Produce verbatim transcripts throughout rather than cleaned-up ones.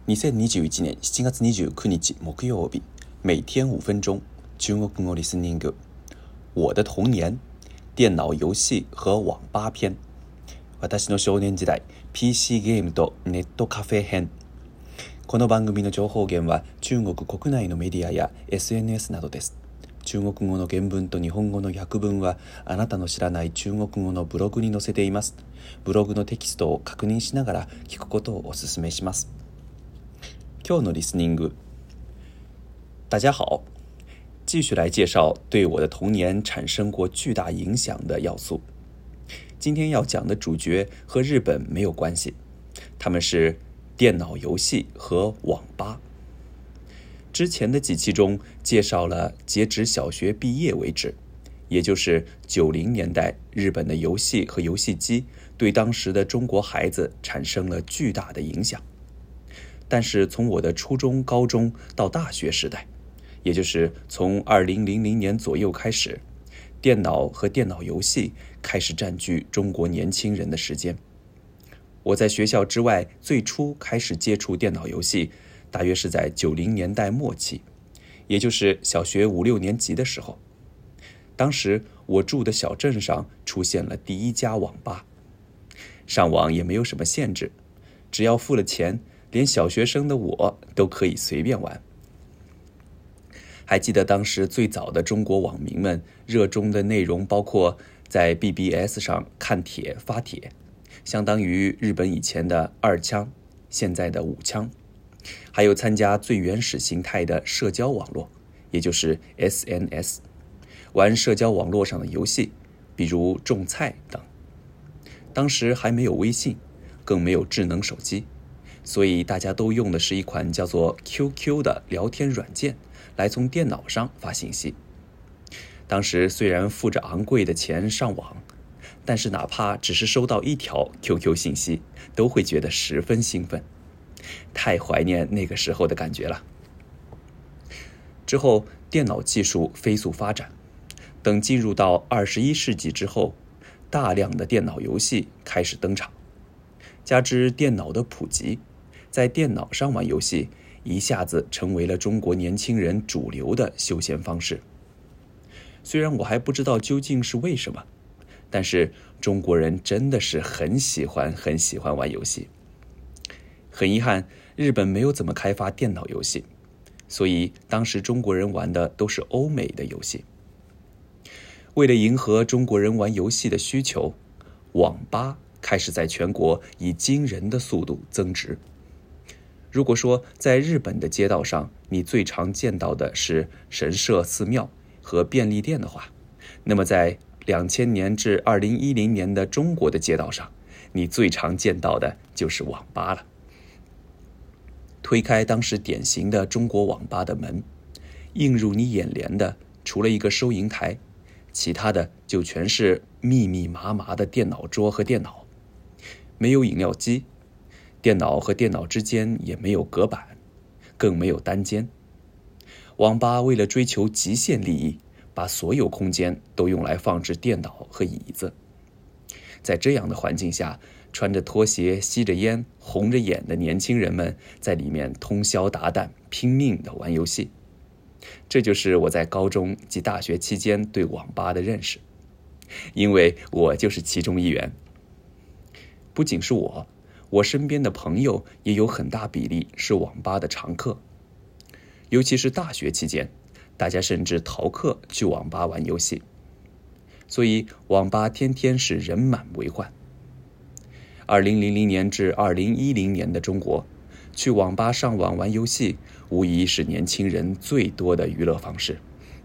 にせんにじゅういちねんしちがつにじゅうくにち木曜日，每天五分钟，中国語リスニング。我的童年，電腦遊戲和網吧篇。私の少年時代、ピーシー ゲームとネットカフェ編。この番組の情報源は中国国内のメディアや エスエヌエス などです。中国語の原文と日本語の訳文はあなたの知らない中国語のブログに載せています。ブログのテキストを確認しながら聞くことをお勧めします。今日のリスニング。大家好，继续来介绍对我的童年产生过巨大影响的要素。今天要讲的主角和日本没有关系，他们是电脑游戏和网吧。之前的几期中介绍了截止小学毕业为止，也就是九零年代日本的游戏和游戏机对当时的中国孩子产生了巨大的影响。但是从我的初中、高中到大学时代，也就是从二零零零年左右开始，电脑和电脑游戏开始占据中国年轻人的时间。我在学校之外最初开始接触电脑游戏，大约是在九零年代末期，也就是小学五六年级的时候。当时我住的小镇上出现了第一家网吧，上网也没有什么限制，只要付了钱，连小学生的我都可以随便玩。还记得当时最早的中国网民们热衷的内容包括在 B B S 上看帖发帖，相当于日本以前的二枪，现在的五枪，还有参加最原始形态的社交网络，也就是 S N S， 玩社交网络上的游戏，比如种菜等。当时还没有微信，更没有智能手机，所以大家都用的是一款叫做 Q Q 的聊天软件来从电脑上发信息。当时虽然付着昂贵的钱上网，但是哪怕只是收到一条 Q Q 信息，都会觉得十分兴奋，太怀念那个时候的感觉了。之后电脑技术飞速发展，等进入到二十一世纪之后，大量的电脑游戏开始登场，加之电脑的普及，在电脑上玩游戏一下子成为了中国年轻人主流的休闲方式。虽然我还不知道究竟是为什么，但是中国人真的是很喜欢很喜欢玩游戏。很遗憾，日本没有怎么开发电脑游戏，所以当时中国人玩的都是欧美的游戏。为了迎合中国人玩游戏的需求，网吧开始在全国以惊人的速度增值。如果说在日本的街道上你最常见到的是神社、寺庙和便利店的话，那么在两千年至二零一零年的中国的街道上，你最常见到的就是网吧了。推开当时典型的中国网吧的门，映入你眼帘的除了一个收银台，其他的就全是密密麻麻的电脑桌和电脑，没有饮料机，电脑和电脑之间也没有隔板，更没有单间。网吧为了追求极限利益，把所有空间都用来放置电脑和椅子。在这样的环境下，穿着拖鞋、吸着烟、红着眼的年轻人们在里面通宵达旦，拼命地玩游戏。这就是我在高中及大学期间对网吧的认识，因为我就是其中一员。不仅是我，我身边的朋友也有很大比例是网吧的常客。尤其是大学期间，大家甚至逃课去网吧玩游戏，所以网吧天天是人满为患。二零零零年至二零一零年的中国，去网吧上网玩游戏无疑是年轻人最多的娱乐方式。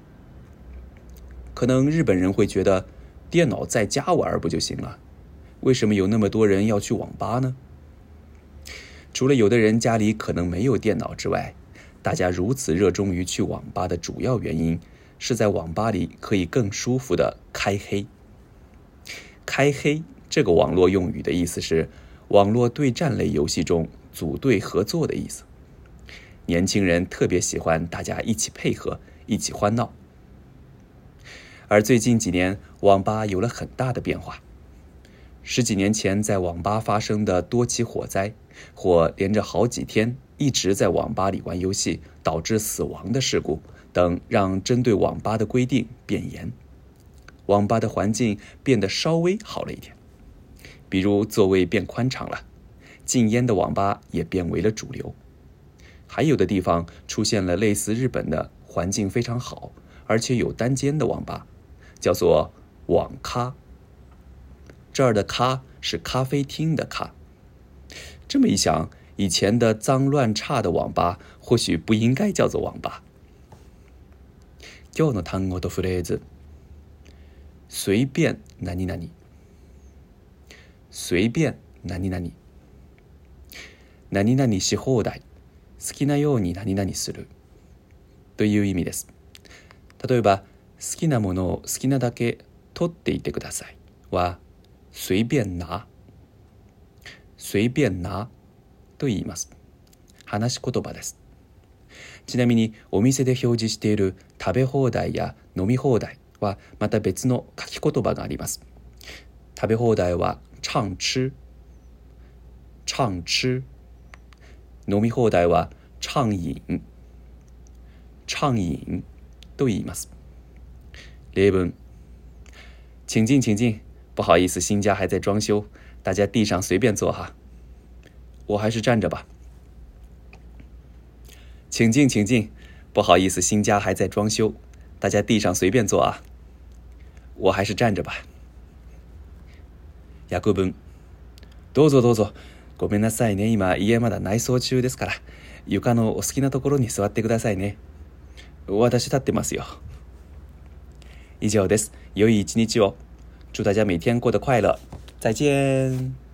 可能日本人会觉得电脑在家玩不就行了，为什么有那么多人要去网吧呢？除了有的人家里可能没有电脑之外，大家如此热衷于去网吧的主要原因是在网吧里可以更舒服的开黑。开黑这个网络用语的意思是网络对战类游戏中组队合作的意思。年轻人特别喜欢大家一起配合，一起欢闹。而最近几年，网吧有了很大的变化。 十几年前在网吧发生的多起火灾，或连着好几天一直在网吧里玩游戏导致死亡的事故等，让针对网吧的规定变严，网吧的环境变得稍微好了一点，比如座位变宽敞了，禁烟的网吧也变为了主流，还有的地方出现了类似日本的环境非常好而且有单间的网吧，叫做网咖。这儿的咖是咖啡厅的咖。这么一想，以前的脏乱差的网吧或许不应该叫做网吧。今日の単語とフレーズ。随便何々。随便何々。何々し放題。好きなように何々する。という意味です。例えば、好きなものを好きなだけ取っていてくださいは、随便拿。随便拿と言います。話し言葉です。ちなみにお店で表示している食べ放題や飲み放題はまた別の書き言葉があります。食べ放題は畅吃。畅吃。飲み放題は畅飲。畅飲と言います。例文。请进请进，不好意思，新家还在装修，大家地上随便坐哈。我还是站着吧。请进请进，不好意思，新家还在装修，大家地上随便坐啊。我还是站着吧。訳文。どうぞどうぞ。ごめんなさいね。今家まだ内装中ですから、床のお好きなところに座ってくださいね。私立ってますよ。以上です。良い一日を。祝大家每天过得快乐。再见。